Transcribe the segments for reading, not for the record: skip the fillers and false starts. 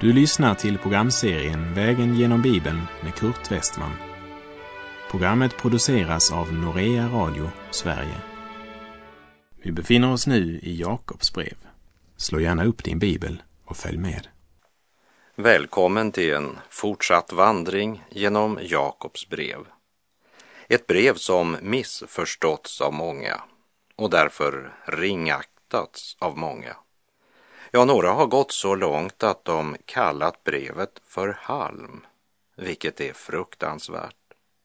Du lyssnar till programserien Vägen genom Bibeln med Kurt Westman. Programmet produceras av Norea Radio, Sverige. Vi befinner oss nu i Jakobs brev. Slå gärna upp din bibel och följ med. Välkommen till en fortsatt vandring genom Jakobs brev. Ett brev som missförståtts av många och därför ringaktats av många. Ja, några har gått så långt att de kallat brevet för halm, vilket är fruktansvärt.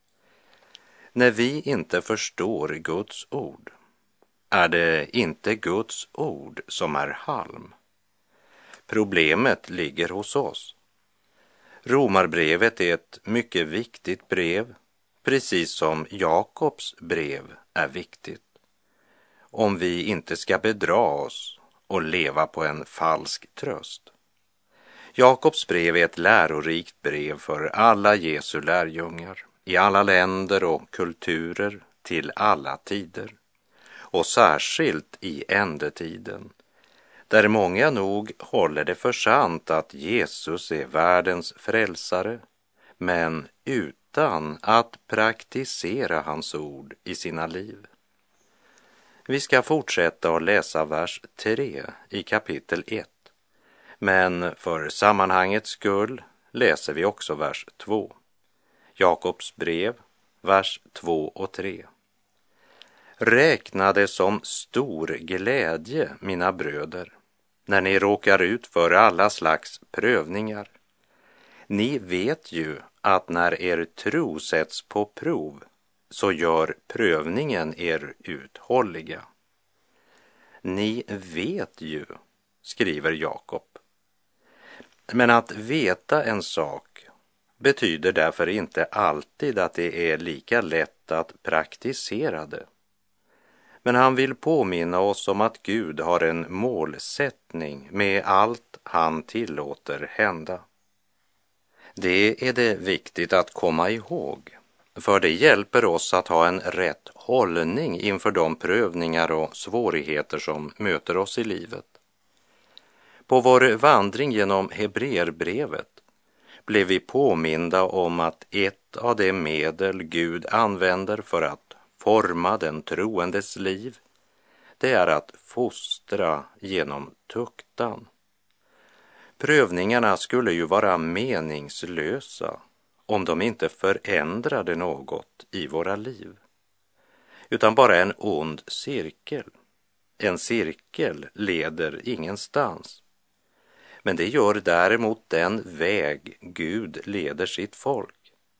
När vi inte förstår Guds ord, är det inte Guds ord som är halm. Problemet ligger hos oss. Romarbrevet är ett mycket viktigt brev, precis som Jakobs brev är viktigt. Om vi inte ska bedra oss och leva på en falsk tröst. Jakobs brev är ett lärorikt brev för alla Jesu lärjungar, i alla länder och kulturer, till alla tider. Och särskilt i ändetiden, där många nog håller det för sant att Jesus är världens frälsare, men utan att praktisera hans ord i sina liv. Vi ska fortsätta att läsa vers 3 i kapitel 1. Men för sammanhangets skull läser vi också vers 2. Jakobs brev, vers 2 och 3. Räkna det som stor glädje, mina bröder, när ni råkar ut för alla slags prövningar. Ni vet ju att när er tro sätts på prov, så gör prövningen er uthålliga. Ni vet ju, skriver Jakob. Men att veta en sak betyder därför inte alltid att det är lika lätt att praktisera det. Men han vill påminna oss om att Gud har en målsättning med allt han tillåter hända. Det är det viktigt att komma ihåg, för det hjälper oss att ha en rätt hållning inför de prövningar och svårigheter som möter oss i livet. På vår vandring genom Hebreerbrevet blev vi påminda om att ett av de medel Gud använder för att forma den troendes liv, det är att fostra genom tuktan. Prövningarna skulle ju vara meningslösa om de inte förändrade något i våra liv, utan bara en ond cirkel. En cirkel leder ingenstans. Men det gör däremot den väg Gud leder sitt folk.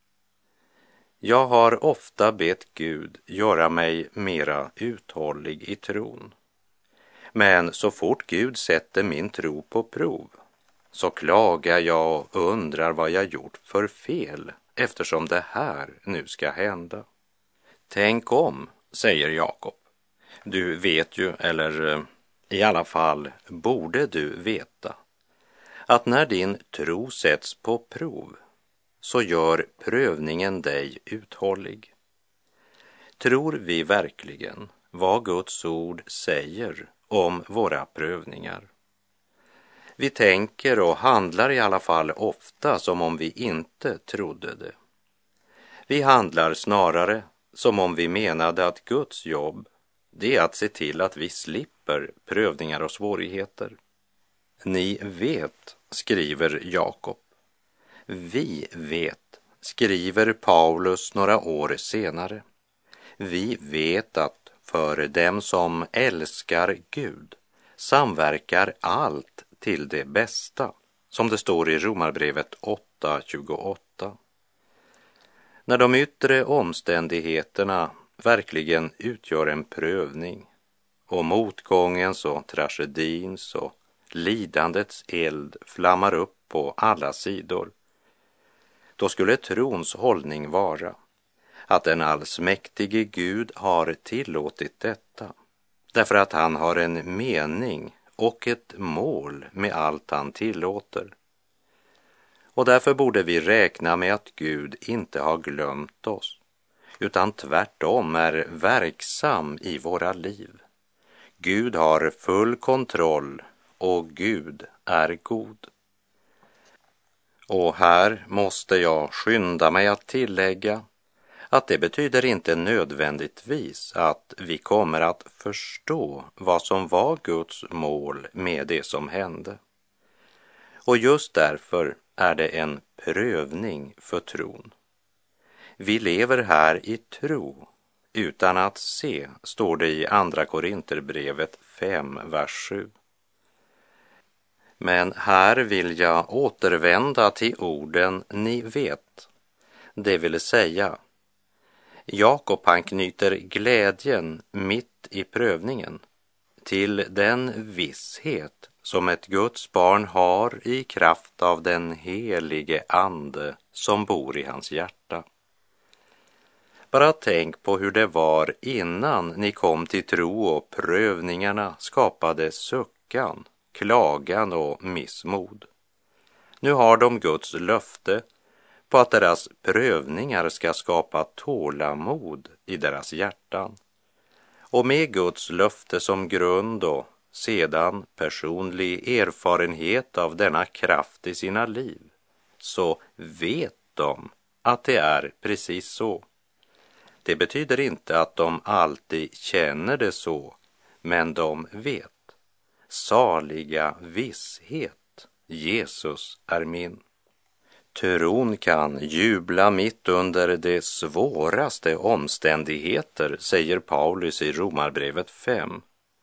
Jag har ofta bett Gud göra mig mera uthållig i tron. Men så fort Gud sätter min tro på prov, så klagar jag och undrar vad jag gjort för fel, eftersom det här nu ska hända. Tänk om, säger Jakob. Du vet ju, eller i alla fall borde du veta, att när din tro sätts på prov, så gör prövningen dig uthållig. Tror vi verkligen vad Guds ord säger om våra prövningar? Vi tänker och handlar i alla fall ofta som om vi inte trodde det. Vi handlar snarare som om vi menade att Guds jobb, det är att se till att vi slipper prövningar och svårigheter. Ni vet, skriver Jakob. Vi vet, skriver Paulus några år senare. Vi vet att för dem som älskar Gud samverkar allt till det bästa, som det står i Romarbrevet 8:28. När de yttre omständigheterna verkligen utgör en prövning och motgångens och tragedins och lidandets eld flammar upp på alla sidor, då skulle trons hållning vara att den allsmäktige Gud har tillåtit detta, därför att han har en mening och ett mål med allt han tillåter. Och därför borde vi räkna med att Gud inte har glömt oss, utan tvärtom är verksam i våra liv. Gud har full kontroll och Gud är god. Och här måste jag skynda mig att tillägga att det betyder inte nödvändigtvis att vi kommer att förstå vad som var Guds mål med det som hände. Och just därför är det en prövning för tron. Vi lever här i tro utan att se, står det i Andra Korinterbrevet 5, vers 7. Men här vill jag återvända till orden ni vet, det vill säga Jakob han knyter glädjen mitt i prövningen till den visshet som ett Guds barn har i kraft av den helige ande som bor i hans hjärta. Bara tänk på hur det var innan ni kom till tro och prövningarna skapade suckan, klagan och missmod. Nu har de Guds löfte på att deras prövningar ska skapa tålamod i deras hjärtan. Och med Guds löfte som grund och sedan personlig erfarenhet av denna kraft i sina liv, så vet de att det är precis så. Det betyder inte att de alltid känner det så, men de vet. Saliga visshet, Jesus är min. Tron kan jubla mitt under de svåraste omständigheter, säger Paulus i Romarbrevet 5.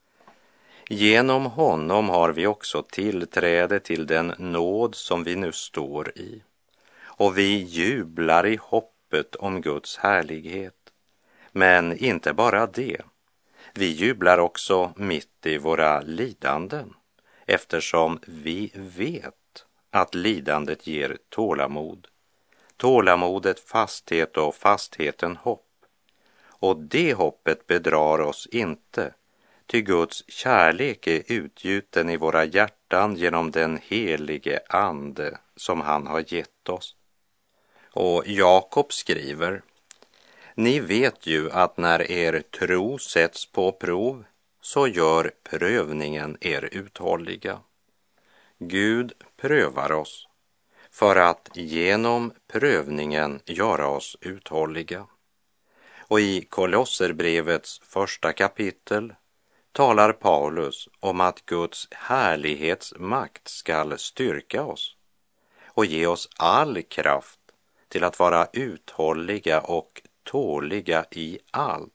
Genom honom har vi också tillträde till den nåd som vi nu står i. Och vi jublar i hoppet om Guds härlighet. Men inte bara det. Vi jublar också mitt i våra lidanden, eftersom vi vet att lidandet ger tålamod. Tålamodet fasthet och fastheten hopp. Och det hoppet bedrar oss inte, ty Guds kärlek är utgjuten i våra hjärtan genom den helige ande som han har gett oss. Och Jakob skriver: ni vet ju att när er tro sätts på prov så gör prövningen er uthålliga. Gud prövar oss för att genom prövningen göra oss uthålliga. Och i Kolosserbrevets 1 kapitel talar Paulus om att Guds härlighetsmakt skall styrka oss och ge oss all kraft till att vara uthålliga och tåliga i allt.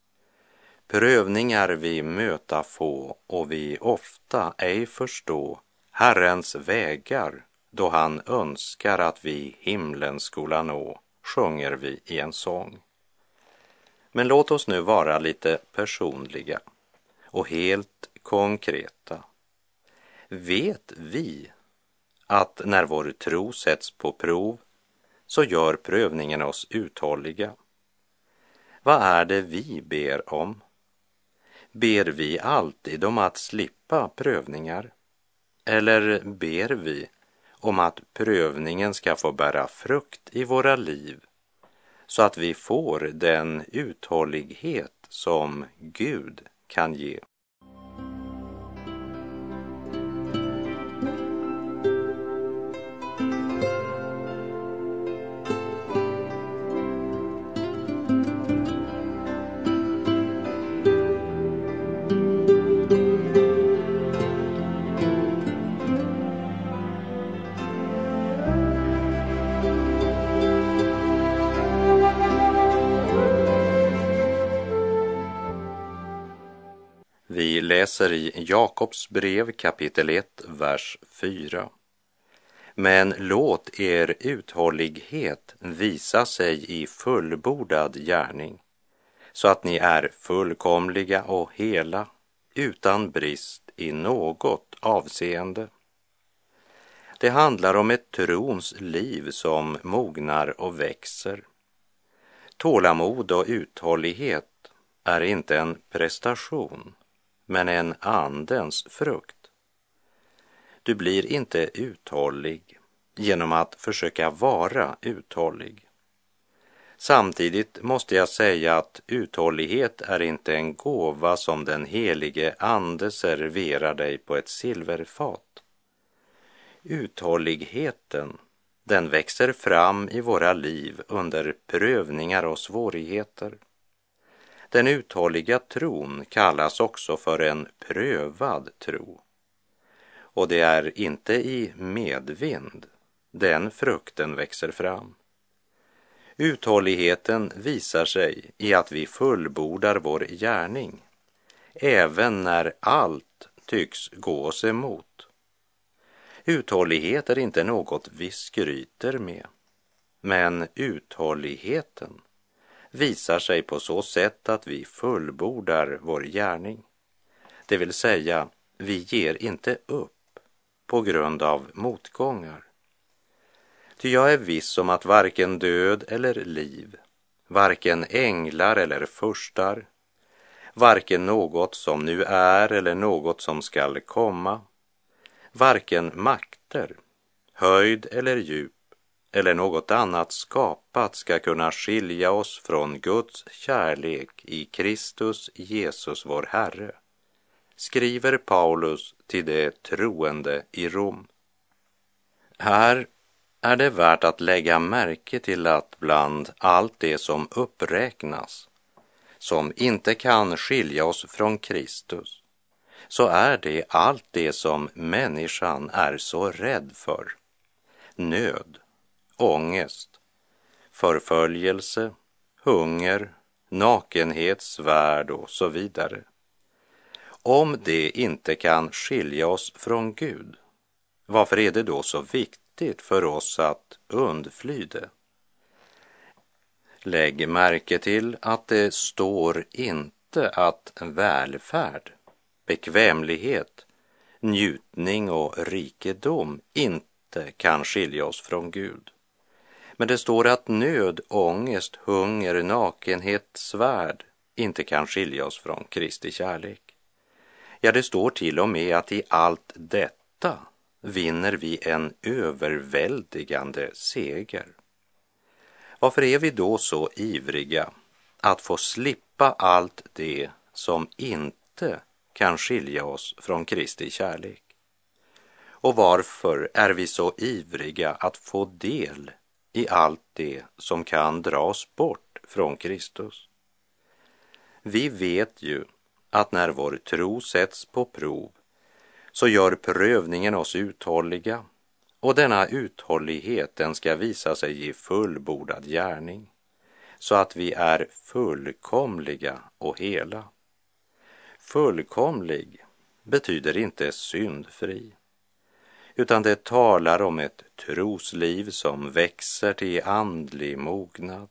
Prövningar vi möta få och vi ofta ej förstå Herrens vägar då han önskar att vi himlen skola nå, sjunger vi i en sång. Men låt oss nu vara lite personliga och helt konkreta. Vet vi att när vår tro sätts på prov så gör prövningen oss uthålliga? Vad är det vi ber om? Ber vi alltid om att slippa prövningar? Eller ber vi om att prövningen ska få bära frukt i våra liv så att vi får den uthållighet som Gud kan ge? Vi läser i Jakobs brev kapitel 1, vers 4. Men låt er uthållighet visa sig i fullbordad gärning, så att ni är fullkomliga och hela, utan brist i något avseende. Det handlar om ett trons liv som mognar och växer. Tålamod och uthållighet är inte en prestation, men en andens frukt. Du blir inte uthållig genom att försöka vara uthållig. Samtidigt måste jag säga att uthållighet är inte en gåva som den helige ande serverar dig på ett silverfat. Uthålligheten, Den växer fram i våra liv under prövningar och svårigheter. Den uthålliga tron kallas också för en prövad tro. Och det är inte i medvind den frukten växer fram. Uthålligheten visar sig i att vi fullbordar vår gärning, även när allt tycks gå oss emot. Uthållighet är inte något vi skryter med, men uthålligheten visar sig på så sätt att vi fullbordar vår gärning. Det vill säga, vi ger inte upp på grund av motgångar. Ty jag är viss om att varken död eller liv, varken änglar eller furstar, varken något som nu är eller något som skall komma, varken makter, höjd eller djup eller något annat skapat ska kunna skilja oss från Guds kärlek i Kristus Jesus vår Herre, skriver Paulus till de troende i Rom. Här är det värt att lägga märke till att bland allt det som uppräknas, som inte kan skilja oss från Kristus, så är det allt det som människan är så rädd för. Nöd, ångest, förföljelse, hunger, nakenhet, svärd och så vidare. Om det inte kan skilja oss från Gud, varför är det då så viktigt för oss att undfly det? Lägg märke till att det står inte att välfärd, bekvämlighet, njutning och rikedom inte kan skilja oss från Gud. Men det står att nöd, ångest, hunger, nakenhet, svärd inte kan skilja oss från Kristi kärlek. Ja, det står till och med att i allt detta vinner vi en överväldigande seger. Varför är vi då så ivriga att få slippa allt det som inte kan skilja oss från Kristi kärlek? Och varför är vi så ivriga att få del i allt det som kan dras bort från Kristus? Vi vet ju att när vår tro sätts på prov så gör prövningen oss uthålliga, och denna uthållighet den ska visa sig i fullbordad gärning, så att vi är fullkomliga och hela. Fullkomlig betyder inte syndfri, utan det talar om ett trosliv som växer till andlig mognad.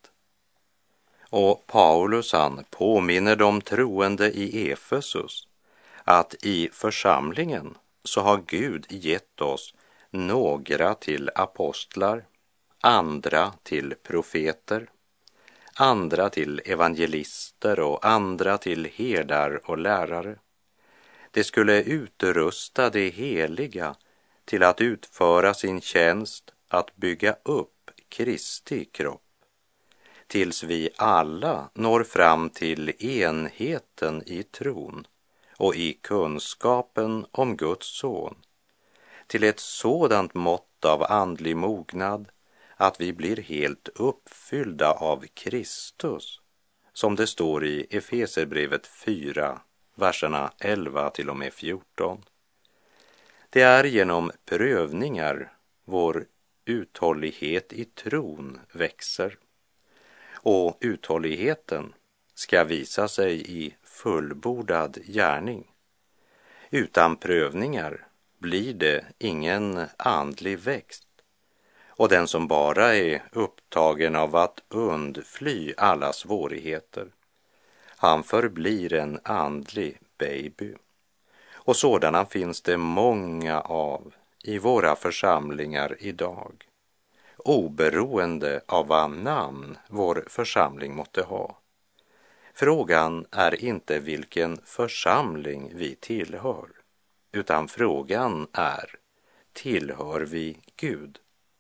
Och Paulus han påminner de troende i Efesus att i församlingen så har Gud gett oss några till apostlar, andra till profeter, andra till evangelister och andra till herdar och lärare. Det skulle utrusta de heliga till att utföra sin tjänst att bygga upp Kristi kropp, tills vi alla når fram till enheten i tron och i kunskapen om Guds son, till ett sådant mått av andlig mognad att vi blir helt uppfyllda av Kristus, som det står i Efeserbrevet 4, verserna 11 till och med 14. Det är genom prövningar vår uthållighet i tron växer, och uthålligheten ska visa sig i fullbordad gärning. Utan prövningar blir det ingen andlig växt, och den som bara är upptagen av att undfly alla svårigheter, han förblir en andlig baby. Och sådana finns det många av i våra församlingar idag, oberoende av vad namn vår församling måtte ha. Frågan är inte vilken församling vi tillhör, utan frågan är, tillhör vi Gud?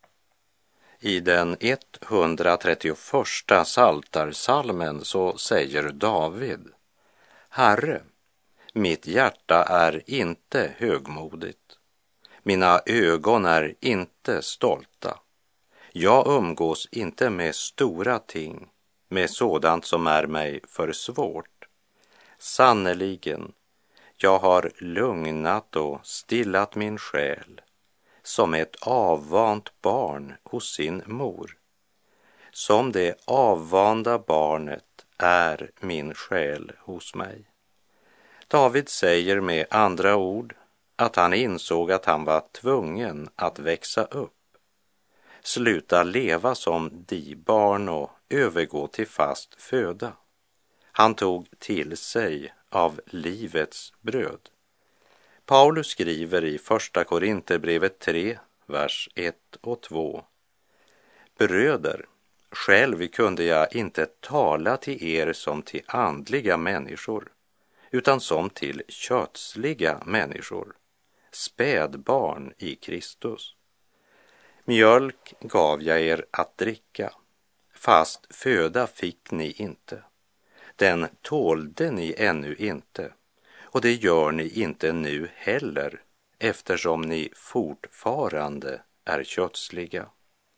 I den 131 psaltarpsalmen så säger David: Herre, mitt hjärta är inte högmodigt, mina ögon är inte stolta, Jag umgås inte med stora ting, med sådant som är mig för svårt. Sannerligen, jag har lugnat och stillat min själ som ett avvant barn hos sin mor. Som det avvanda barnet är min själ hos mig. David säger med andra ord att han insåg att han var tvungen att växa upp, sluta leva som barn och övergå till fast föda. Han tog till sig av livets bröd. Paulus skriver i första Korinterbrevet 3, vers 1 och 2. Bröder, själv kunde jag inte tala till er som till andliga människor, utan som till kötsliga människor, spädbarn i Kristus. Mjölk gav jag er att dricka, fast föda fick ni inte. Den tålde ni ännu inte, och det gör ni inte nu heller, eftersom ni fortfarande är kötsliga.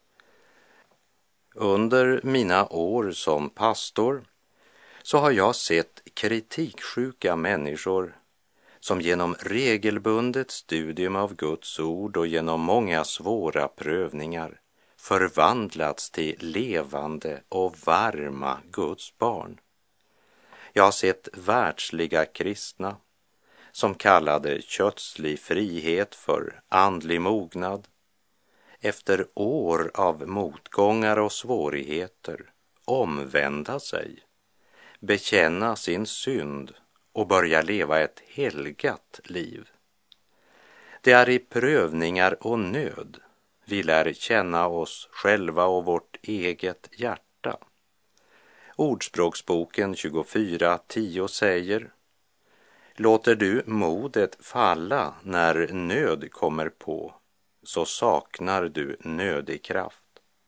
Under mina år som pastor så har jag sett kritiksjuka människor som genom regelbundet studium av Guds ord och genom många svåra prövningar förvandlats till levande och varma Guds barn. Jag har sett världsliga kristna som kallade kötslig frihet för andlig mognad, efter år av motgångar och svårigheter omvända sig, bekänna sin synd och börja leva ett helgat liv. Det är i prövningar och nöd vi lär känna oss själva och vårt eget hjärta. Ordspråksboken 24:10 säger: låter du modet falla när nöd kommer på, så saknar du nödig kraft.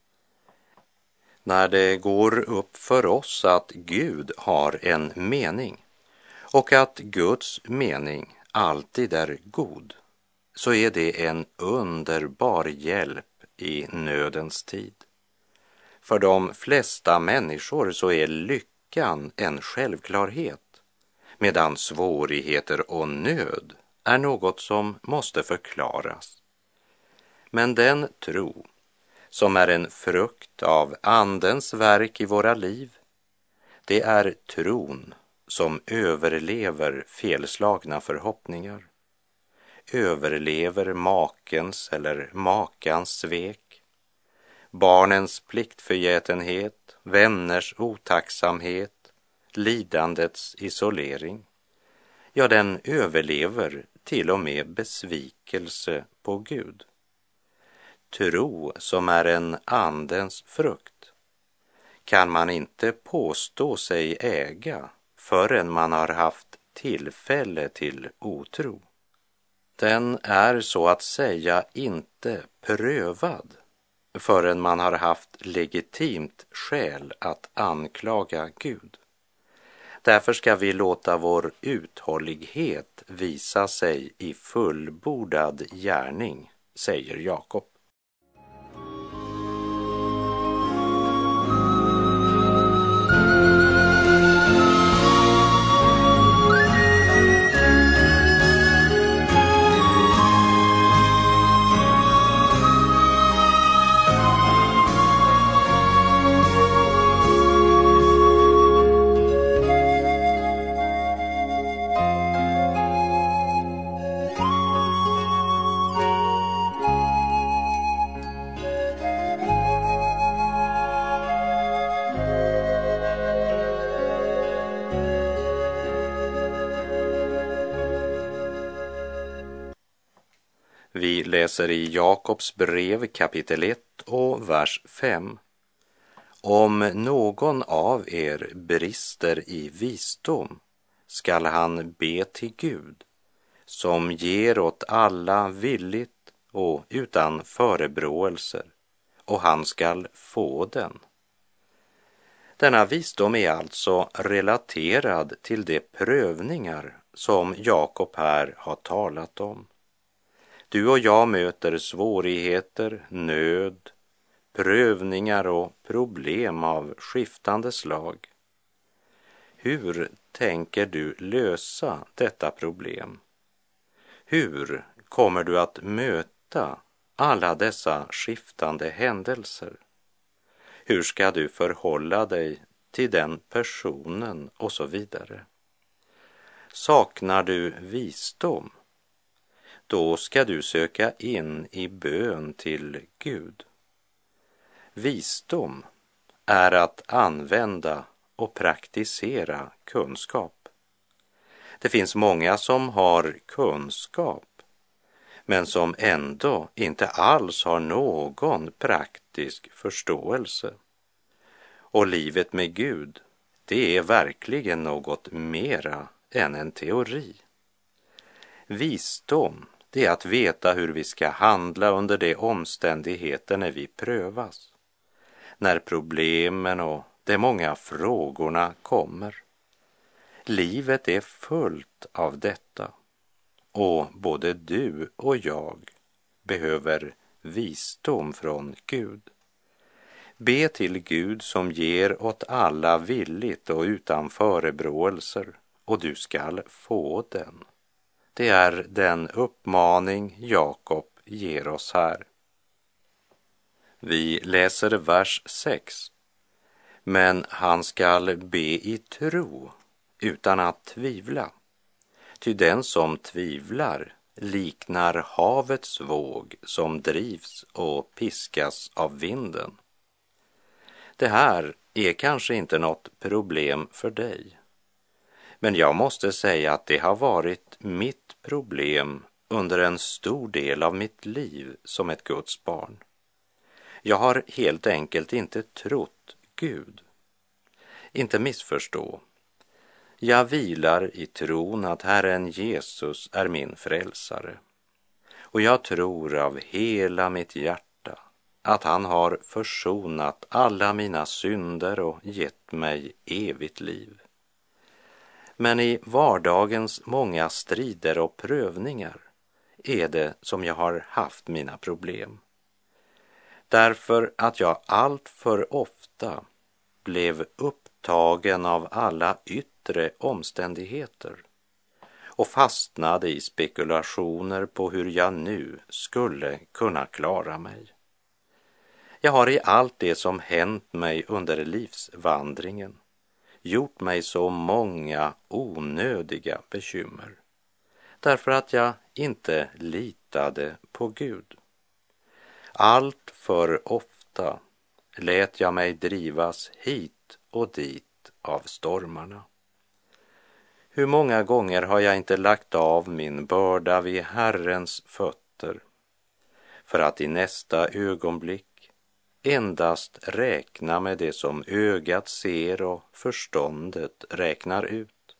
När det går upp för oss att Gud har en mening och att Guds mening alltid är god, så är det en underbar hjälp i nödens tid. För de flesta människor så är lyckan en självklarhet, medan svårigheter och nöd är något som måste förklaras. Men den tro som är en frukt av Andens verk i våra liv, det är tron som överlever felslagna förhoppningar, överlever makens eller makans svek, barnens pliktförgätenhet, vänners otacksamhet, lidandets isolering. Ja, den överlever till och med besvikelse på Gud. Tro som är en andens frukt kan man inte påstå sig äga förrän man har haft tillfälle till otro. Den är så att säga inte prövad förrän man har haft legitimt skäl att anklaga Gud. Därför ska vi låta vår uthållighet visa sig i fullbordad gärning, säger Jakob. Vi läser i Jakobs brev kapitel 1 och vers 5. Om någon av er brister i visdom skall han be till Gud, som ger åt alla villigt och utan förebråelser, och han skall få den. Denna visdom är alltså relaterad till de prövningar som Jakob här har talat om. Du och jag möter svårigheter, nöd, prövningar och problem av skiftande slag. Hur tänker du lösa detta problem? Hur kommer du att möta alla dessa skiftande händelser? Hur ska du förhålla dig till den personen och så vidare? Saknar du visdom? Då ska du söka in i bön till Gud. Visdom är att använda och praktisera kunskap. Det finns många som har kunskap men som ändå inte alls har någon praktisk förståelse. Och livet med Gud, det är verkligen något mera än en teori. Visdom, det är att veta hur vi ska handla under de omständigheter när vi prövas. När problemen och de många frågorna kommer. Livet är fullt av detta. Och både du och jag behöver visdom från Gud. Be till Gud som ger åt alla villigt och utan förebråelser, och du skall få den. Det är den uppmaning Jakob ger oss här. Vi läser vers 6. Men han skall be i tro utan att tvivla. Ty den som tvivlar liknar havets våg som drivs och piskas av vinden. Det här är kanske inte något problem för dig. Men jag måste säga att det har varit mitt problem under en stor del av mitt liv som ett Guds barn. Jag har helt enkelt inte trott Gud. Inte missförstå. Jag vilar i tron att Herren Jesus är min frälsare. Och jag tror av hela mitt hjärta att han har försonat alla mina synder och gett mig evigt liv. Men i vardagens många strider och prövningar är det som jag har haft mina problem. Därför att jag allt för ofta blev upptagen av alla yttre omständigheter och fastnade i spekulationer på hur jag nu skulle kunna klara mig. Jag har i allt det som hänt mig under livsvandringen gjort mig så många onödiga bekymmer därför att jag inte litade på Gud. Allt för ofta lät jag mig drivas hit och dit av stormarna. Hur många gånger har jag inte lagt av min börda vid Herrens fötter för att i nästa ögonblick endast räkna med det som ögat ser och förståndet räknar ut.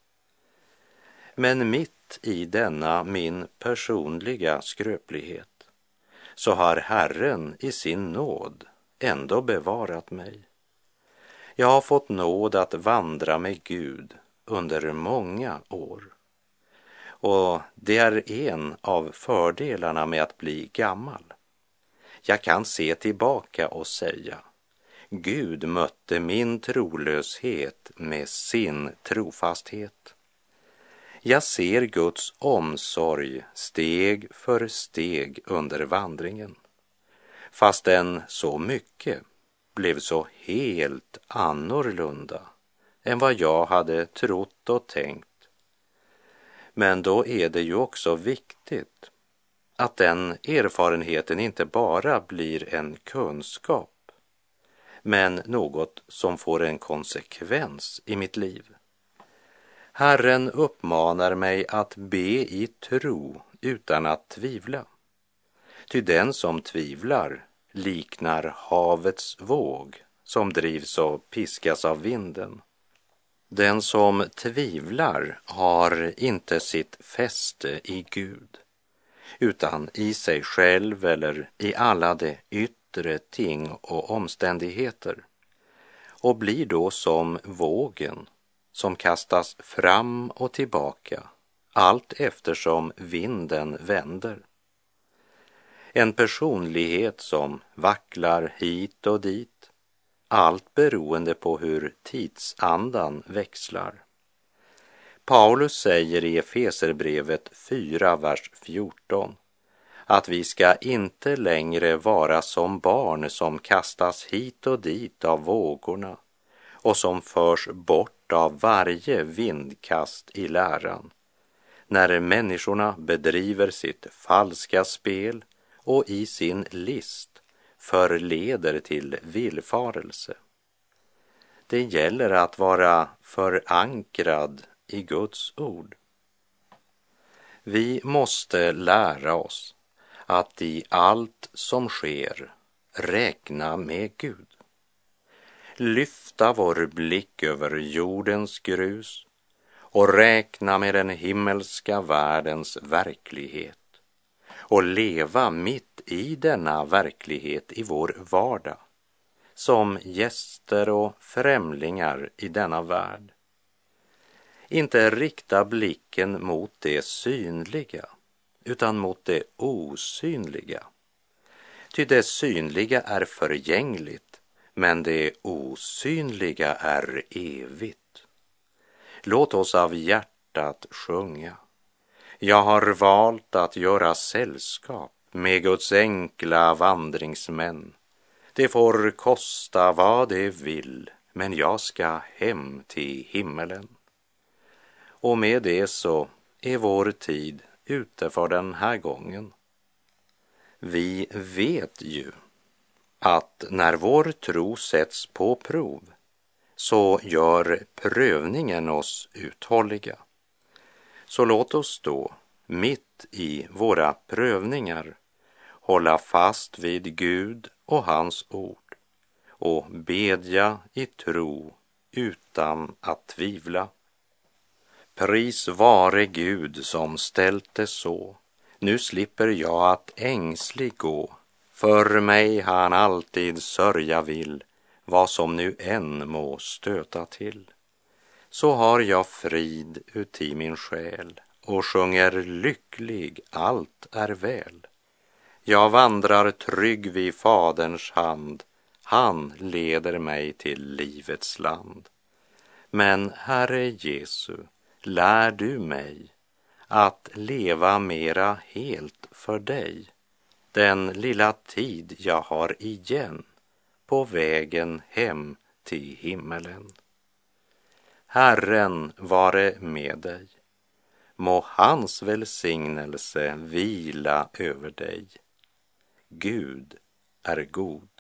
Men mitt i denna min personliga skröplighet så har Herren i sin nåd ändå bevarat mig. Jag har fått nåd att vandra med Gud under många år. Och det är en av fördelarna med att bli gammal. Jag kan se tillbaka och säga, Gud mötte min trolöshet med sin trofasthet. Jag ser Guds omsorg steg för steg under vandringen, fastän så mycket blev så helt annorlunda än vad jag hade trott och tänkt. Men då är det ju också viktigt att den erfarenheten inte bara blir en kunskap, men något som får en konsekvens i mitt liv. Herren uppmanar mig att be i tro utan att tvivla. Ty den som tvivlar liknar havets våg som drivs och piskas av vinden. Den som tvivlar har inte sitt fäste i Gud, utan i sig själv eller i alla de yttre ting och omständigheter, och blir då som vågen som kastas fram och tillbaka allt eftersom vinden vänder. En personlighet som vacklar hit och dit, allt beroende på hur tidsandan växlar. Paulus säger i Efeserbrevet 4, vers 14, att vi ska inte längre vara som barn som kastas hit och dit av vågorna och som förs bort av varje vindkast i läran, när människorna bedriver sitt falska spel och i sin list förleder till villfarelse. Det gäller att vara förankrad i Guds ord. Vi måste lära oss att i allt som sker räkna med Gud. Lyfta vår blick över jordens grus och räkna med den himmelska världens verklighet och leva mitt i denna verklighet i vår vardag som gäster och främlingar i denna värld. Inte rikta blicken mot det synliga utan mot det osynliga. Ty det synliga är förgängligt, men det osynliga är evigt. Låt oss av hjärtat sjunga. Jag har valt att göra sällskap med Guds enkla vandringsmän. Det får kosta vad det vill, men jag ska hem till himmelen. Och med det så är vår tid ute för den här gången. Vi vet ju att när vår tro sätts på prov så gör prövningen oss uthålliga. Så låt oss då mitt i våra prövningar hålla fast vid Gud och hans ord och bedja i tro utan att tvivla. Pris vare Gud som ställt det så. Nu slipper jag att ängslig gå. För mig han alltid sörja vill, vad som nu än må stöta till. Så har jag frid uti min själ och sjunger lycklig, allt är väl. Jag vandrar trygg vid Faderns hand, han leder mig till livets land. Men Herre Jesu, lär du mig att leva mera helt för dig, den lilla tid jag har igen på vägen hem till himmelen. Herren vare med dig, må hans välsignelse vila över dig. Gud är god.